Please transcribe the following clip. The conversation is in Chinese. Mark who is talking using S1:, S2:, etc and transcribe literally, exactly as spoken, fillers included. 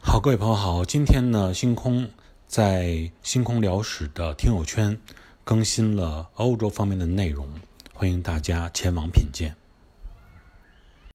S1: 好，各位朋友好，今天呢，星空在星空聊史的听友圈更新了欧洲方面的内容，欢迎大家前往品鉴。